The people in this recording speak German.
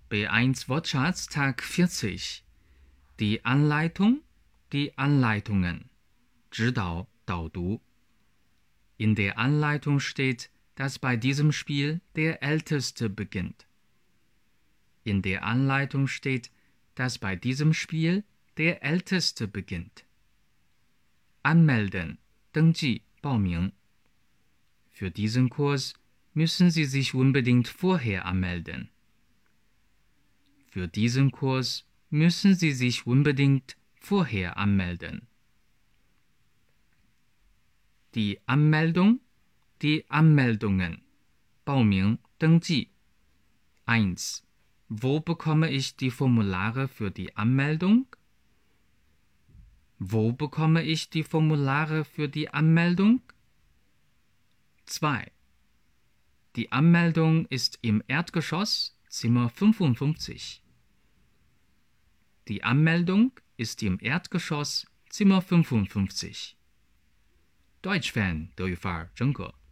B1 Wortschatz Tag 40. Die Anleitung, die Anleitungen. 指导, 导读. In der Anleitung steht, dass bei diesem Spiel der Älteste beginnt. In der Anleitung steht, dass bei diesem Spiel der Älteste beginnt. Anmelden, 登记, 报名. Für diesen Kurs müssen Sie sich unbedingt vorher anmelden. Für diesen Kurs müssen Sie sich unbedingt vorher anmelden. Die Anmeldung, die Anmeldungen. 报名, 登记. 1. Wo bekomme ich die Formulare für die Anmeldung? Wo bekomme ich die Formulare für die Anmeldung? 2. Die Anmeldung ist im Erdgeschoss, Zimmer 55. Die Anmeldung ist im Erdgeschoss, Zimmer 55. Deutsch Fan 德语范儿真格